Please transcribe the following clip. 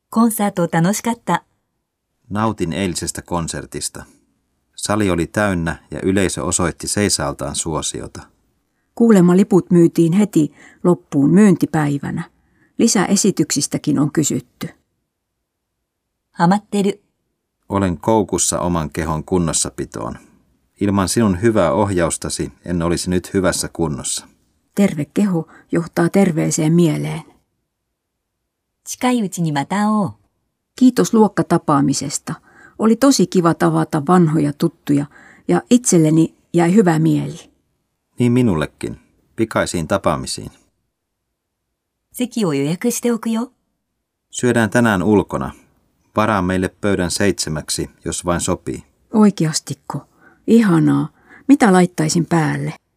コンサート楽しかった。 Nautin eilisestä konsertista. Sali oli täynnä ja yleisö osoitti seisaaltaan suosiota. Kuulemma liput myytiin heti loppuun myyntipäivänä. Lisäesityksistäkin on kysytty. ハマってる。 Olen koukussa oman kehon kunnossapitoon. Ilman sinun hyvää ohjaustasi en olisi nyt hyvässä kunnossa. Terve keho johtaa terveeseen mieleen. 近いうちにまた会おう。 Kiitos luokkatapaamisesta. Oli tosi kiva tavata vanhoja tuttuja ja itselleni jäi hyvä mieli. Niin minullekin. Pikaisiin tapaamisiin. 席を予約しておくよ。 Syödään tänään ulkona. Varaa meille pöydän 7, jos vain sopii. Oikeastiko? Ihanaa. Mitä laittaisin päälle?